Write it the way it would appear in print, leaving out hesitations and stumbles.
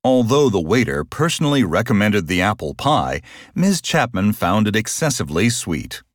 Although the waiter personally recommended the apple pie, Ms. Chapman found it excessively sweet.